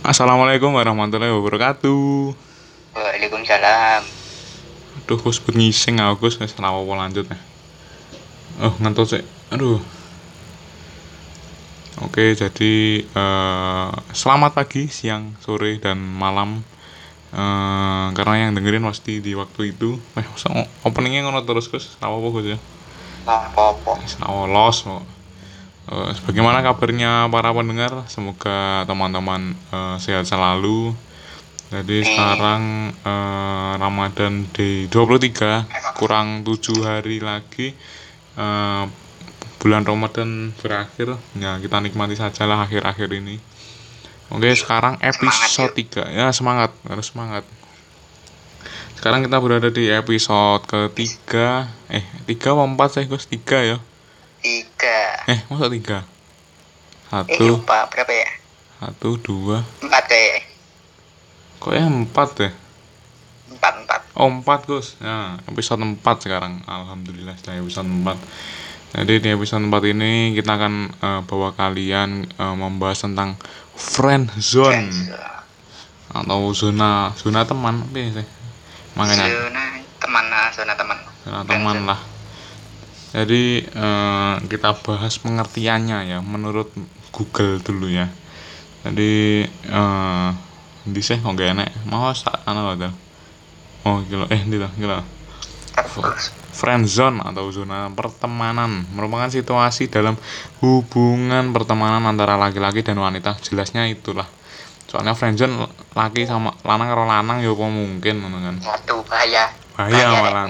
Assalamualaikum warahmatullahi wabarakatuh. Waalaikumsalam. Aduh, Gus ngising aku wis ora apa lanjut ya. Oh, ngantuk sih. Aduh. Oke, jadi selamat pagi, siang, sore dan malam. Karena yang dengerin pasti di waktu itu. Masa openingnya ngono terus Gus? Ora apa Gus ya? Apa-apa. Wis ora los kok. Bagaimana kabarnya para pendengar? Semoga teman-teman sehat selalu. Jadi sekarang Ramadan Day 23, kurang 7 hari lagi eh, bulan Ramadan berakhir. Ya, kita nikmati sajalah akhir-akhir ini. Oke, sekarang episode 3. Ya, semangat, harus semangat. Sekarang kita berada di episode ketiga. 3 apa 4 sih, Gus? 3 ya. 3. Masa 3? 1, Lupa berapa ya? 1, 2. 4 kayak. Kok ya 4 deh? 4. Oh 4 Gus. Nah episode 4 sekarang. Alhamdulillah sudah episode 4. Jadi di episode 4 ini kita akan bawa kalian membahas tentang friend zone atau zona teman apa ya sih? Makanya Zona teman. zona teman lah. Jadi kita bahas pengertiannya ya menurut Google dulu ya. Jadi di sih kok gak enak. Mau sak ana lho. Oh gila. Friendzone atau zona pertemanan merupakan situasi dalam hubungan pertemanan antara laki-laki dan wanita. Jelasnya itulah. Soalnya friendzone laki sama lanang karo lanang ya apa mungkin ngono kan. Waduh, bahaya. Malah.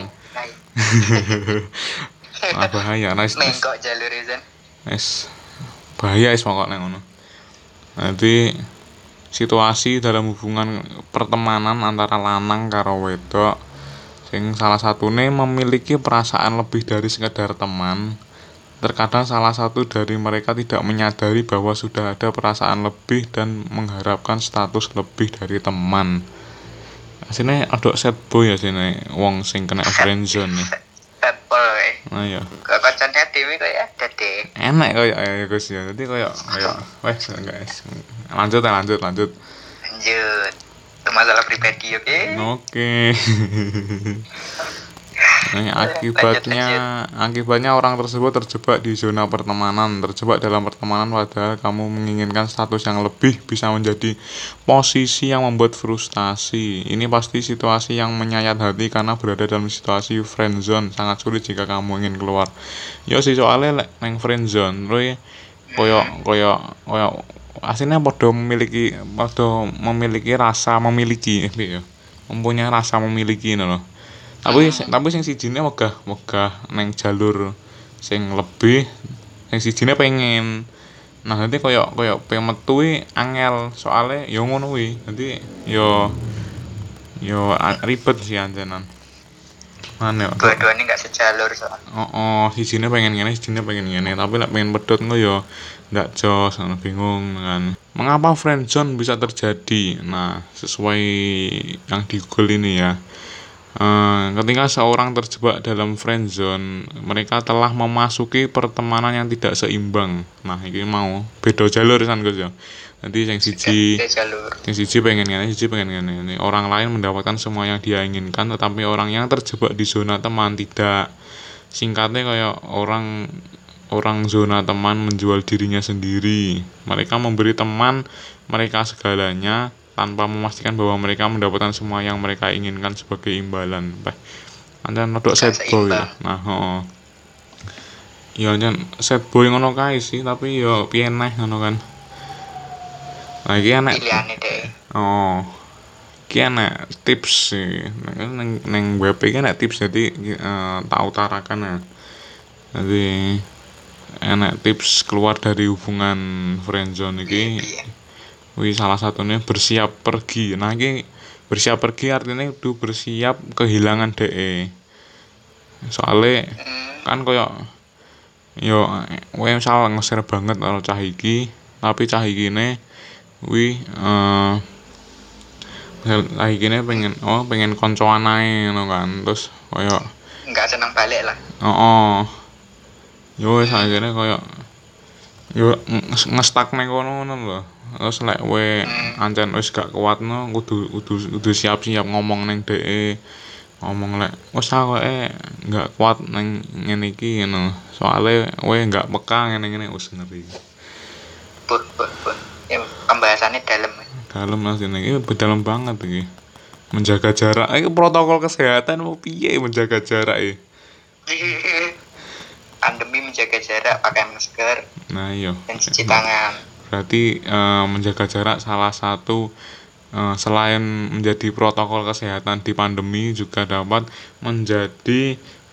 Bahaya. Mengkok jalur izin. Bahaya pokoknya ngono. Nanti situasi dalam hubungan pertemanan antara lanang karo wedok sing salah satune memiliki perasaan lebih dari sekedar teman. Terkadang salah satu dari mereka tidak menyadari bahwa sudah ada perasaan lebih dan mengharapkan status lebih dari teman. Asine aduk sad boy ya sini wong sing kena friendzone nih. Apple kayak. Nah ya. Kok kocoknya dewe kok ya dadi. Enak koyo ya Gus ya. Dadi koyo wes guys. Lanjut. Lanjut. Itu masalah pribadi, oke? Oke. Akibatnya orang tersebut terjebak di zona pertemanan. Terjebak dalam pertemanan padahal kamu menginginkan status yang lebih bisa menjadi posisi yang membuat frustasi. Ini pasti situasi yang menyayat hati karena berada dalam situasi friendzone. Sangat sulit jika kamu ingin keluar. Yo sih soalnya lek nang friendzone koyo aslinya padha memiliki rasa memiliki ya. Mempunyai rasa memiliki loh. Tapi sing sijine wegah neng jalur sing lebih, sing sijine pengen. Nah, nanti koyo pengen metu angel soalnya yo ngono kuwi. Nanti yo ribet sih anjenan. Mana yo. Dua-duanya enggak sejalur soal. Sijine pengen ngene, tapi lek pengen pedhot engko yo ndak jos, bingung kan. Mengapa friendzone bisa terjadi? Nah, sesuai yang di Google ini ya. Ketika seorang terjebak dalam friendzone, mereka telah memasuki pertemanan yang tidak seimbang. Nah, ini mau beda jalur kan Gus ya. Nanti yang siji pengen ngene. Orang lain mendapatkan semua yang dia inginkan, tetapi orang yang terjebak di zona teman tidak. Singkatnya kayak orang zona teman menjual dirinya sendiri. Mereka memberi teman mereka segalanya tanpa memastikan bahwa mereka mendapatkan semua yang mereka inginkan sebagai imbalan. Anda nodok sad boy ya. Nah, ya jan sad boy ngono kae sih, tapi ya piye neh ngono kan. Nah, iki enek Pilihane deh. Iki enek tips sih. Neng web iki enek tips jadi tak utarakan ya. Jadi enek tips keluar dari hubungan friendzone iki. Wih, salah satunya bersiap pergi. Nah, ini bersiap pergi artinya itu bersiap kehilangan DE. Soalnya kan koyo yo misal nge-share banget karo cah iki, tapi cah ikine cah ikine pengen koncoan ae ngono kan. Terus koyo Enggak senang balik lah. Yo wis akhirnya koyo yo ngestak nang kono lho. Terus lek we ancen wis gak kuatno kudu siap-siap ngomong ning dhek. Ngomong lek wis akoke gak kuat ning ngene iki ngono. Soale we gak peka ngene-ngene wis ngeri. Buh. Ya, pembahasannya dalam. Dalam Mas ini dalam banget iki. Menjaga jarak iki protokol kesehatan mau piye menjaga jarak iki. Pandemi menjaga jarak, pakai masker Nah iya. dan cuci tangan. Berarti menjaga jarak salah satu selain menjadi protokol kesehatan di pandemi juga dapat menjadi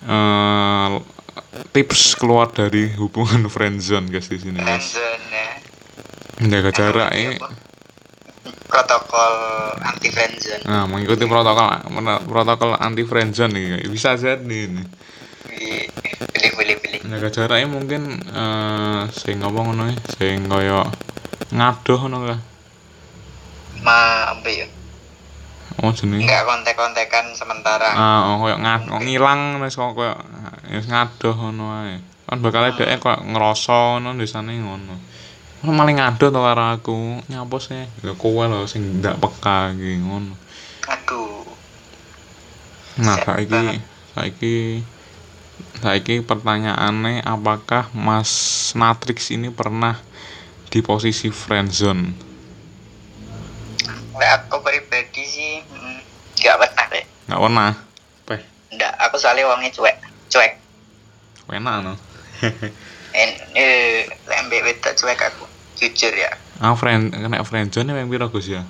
tips keluar dari hubungan friendzone guys di sini guys. Friendzone ya. Menjaga jarak ini Protokol anti friendzone. nah mengikuti protokol anti friendzone nih bisa jadi ini. Pilih. Menjaga jarak ini mungkin sing ngomong ngono sing kaya ngadoh ngono ka. Apa ya? Oh jenenge. Enggak kontek-kontekan sementara. Koyo ngilang wis kok koyo wis ngadoh ngono ae. Kan bakal dhek kok ngrasa ngono desane ngono. Ono maling ngadoh to karo aku. Nyapos e. Ya kowe lho sing ndak peka iki ngono. Aduh. Nah, saiki pertanyaannya apakah Mas Natrix ini pernah di posisi friendzone? Aku pribadi sih nggak pernah deh. Nggak pernah. Nggak, aku soalnya wongnya cuek. Enak no. Lembek wedok cuek aku, jujur ya. Kena friendzone yang piro Gus ya?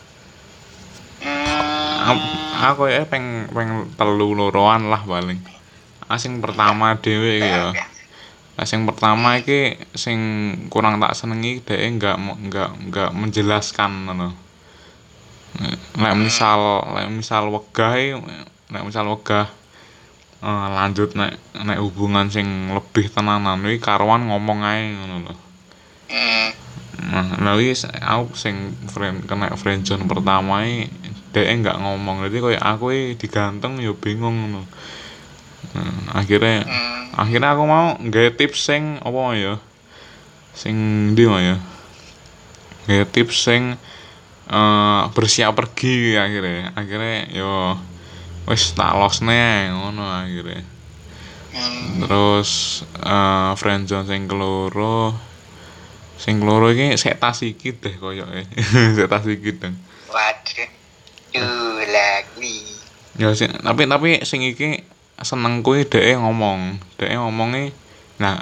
Aku ya peng 3-4 lah paling. Sing pertama dhewe iki ya. Sing pertama iki sing kurang tak senengi dhek enggak menjelaskan ngono. Nek misal wegah lanjut nek hubungan sing lebih tenanan iki karuan ngomong ae ngono lho. Nah, wis aku sing kena friendzone pertama iki dhek enggak ngomong. Dadi koyo aku digantung ya bingung ngono. Akhirnya aku mau gawe tips sing apa ya? Sing ndi ya? Gawe tips sing bersiap pergi akhirnya yo wis tak losne ngono akhirnya. Terus friendzone sing keloro iki sek tas iki deh koyoke. Sek tas iki deh. Waduh. Lagi. Ya sing tapi sing iki senengku dhek ngomongnya nah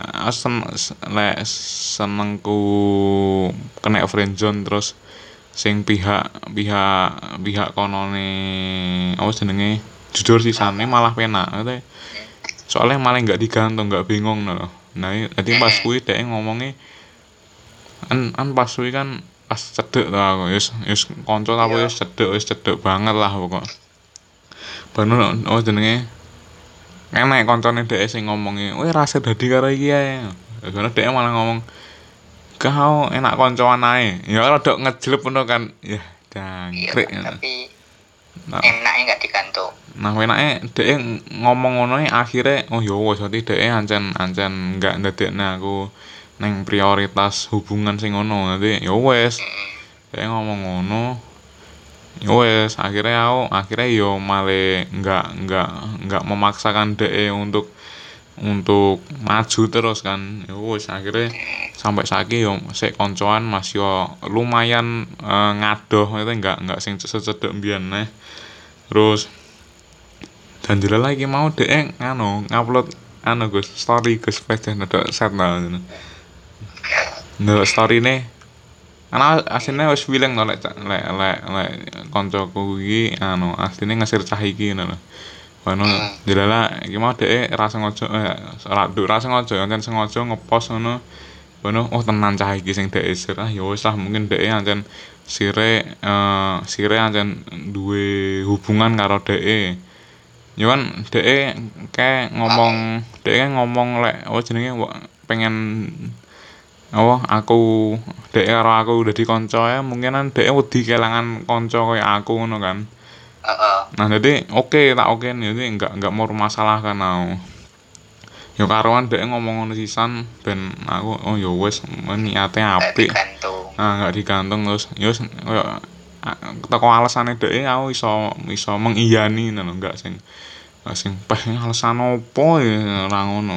senengku kena friendzone terus sing pihak konone apa jenenge jujur sisane malah penak soalnya malah nggak digantung nggak bingung loh. Nah jadi pas kuwi dhek ngomongnya an pas kuwi kan pas cedek to aku wis kanca aku wis cedek banget lah pokok bener jenenge enek koncone dhek sing ngomongi, "Weh rasa dadi karo iki ae." Karena dhek malah ngomong, "Kau enak koncoan ae." Ya rada ngejleb ngono kan. Ya, jangkrik. Tapi enaknya enggak digantung. Nah, enake dhek ngomong ngono akhire oh ya wis dadi dhek ancen enggak ndadekne aku ning prioritas hubungan sing ngono. Dadi ya wis. Dhek ngomong ngono. Ya wes akhirnya yo malah nggak memaksakan DE untuk maju terus kan. Ya wes akhirnya sampai saiki yo sik koncoan Mas yo lumayan ngadoh itu nggak sing secedek mbiyen neh. Terus dan jelas lagi mau DE ngupload Gus story Gus page ndok set ngono. Ndok story nih karena aslinya wis wileng to lek kancaku iki asline ngesir cah iki ngono lho. Ono jelala iki mau dhek ra sengaja ancen sengaja ngepost ngono. Ono tenan cah iki sing dhek sir ya wis lah mungkin dhek ancen sire ancen duwe hubungan karo dhek. Ya kan dhek ngomong lek jenenge pengen aku dek karo aku udah di kanca ya mungkinan dek wedi kelangan kanca kaya aku ngono kan. Nah jadi tak oke nih jadi enggak mau masalah kan aku. Ya karuan dek ngomong ngono sisan ben aku oh ya wis niate apik. nggak digantung terus koyo teko alasane dhek aku iso mengiyani ngono enggak sing alasan opo ya ora ngono.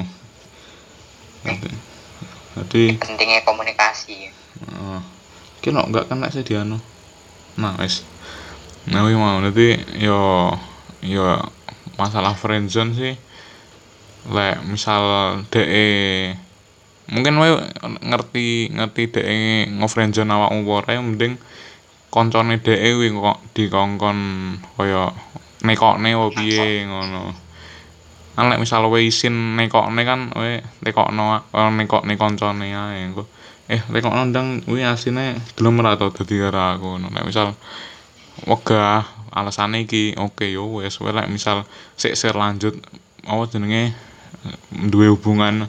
Jadi Pentingnya komunikasi. iki lho enggak kena sediano. Nah, wis. Nah, kuwi mau dadi yo masalah friendzone sih lek misal dhek mungkin wae ngerti dhek ngofriendzone awakmu apa ora mending koncone dhek kuwi kok dikongkon kaya nekokne opo piye ngono. Kan lek misal kowe isin nekokne kan kowe nekokne koncone ae engko nekokno ndang kuwi asine gelem ora to dadi karo aku ngono. Lek misal wegah alasane iki oke yo wis lek misal sik lanjut apa jenenge duwe hubungan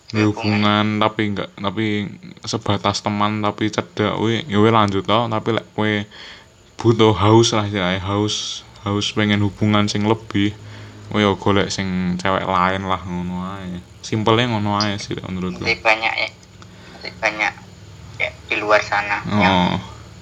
tapi sebatas teman tapi cedhak kuwi ya lanjut to tapi lek kowe butuh haus lah ya haus pengen hubungan sing lebih kowe yo golek sing cewek lain lah ngono ae simpelnya ngono ae sih menurutku Masih banyak ya di luar sana yang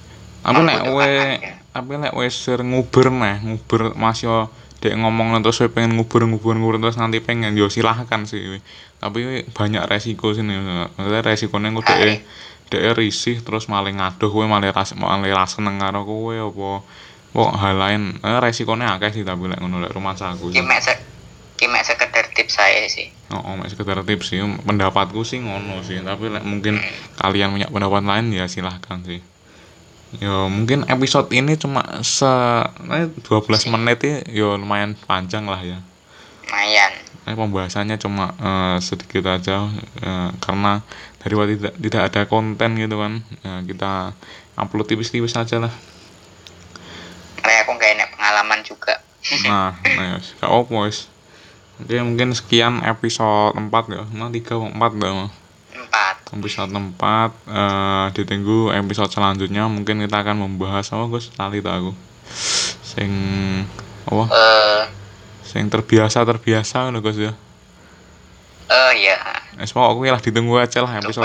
tapi lek kowe nguber masih dek ngomong terus saya pengen nguber terus nanti pengen yo silahkan sih tapi banyak resiko sini maksudnya resikonya engko dek risih terus malah ngaduh kowe malah seneng karo kowe apa kok hal lain resikonya akeh sih tapi lek ngono lek rumah saku mek sekedar tips saya sih mek sekedar tips sih pendapatku sih ngono sih tapi lek mungkin kalian punya pendapat lain ya silahkan sih. Ya mungkin episode ini cuma 12 menit ya lumayan panjang lah ya. Lumayan. Pembahasannya cuma sedikit aja karena daripada tidak ada konten gitu kan. Kita upload tipis-tipis aja lah. Kayak aku nggak enak pengalaman juga. Nah, ya, gak apa wis. Oke, mungkin sekian episode 4 ya. Nah, 3 4 ya. Episode 4 ditunggu episode selanjutnya mungkin kita akan membahas Gus lali to aku sing sing terbiasa ngono Gus ya iya wis pokoknya lah ditunggu aja lah episode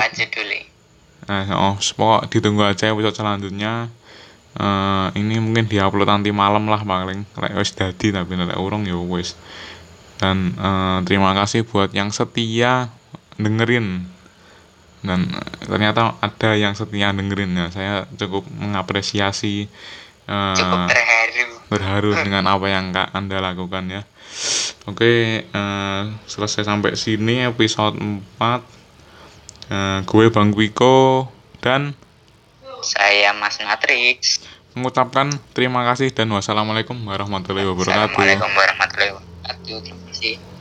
pokok ditunggu aja episode selanjutnya ini mungkin diupload nanti malam lah paling lek wis dadi tapi lek urung ya wis dan terima kasih buat yang setia dengerin dan ternyata ada yang setia dengerin ya saya cukup mengapresiasi cukup terharu dengan apa yang Anda lakukan ya. Oke, selesai sampai sini episode 4 gue Bang Wiko dan saya Mas Matrix mengucapkan terima kasih dan wassalamualaikum warahmatullahi wabarakatuh. Assalamualaikum warahmatullahi wabarakatuh. Terima kasih.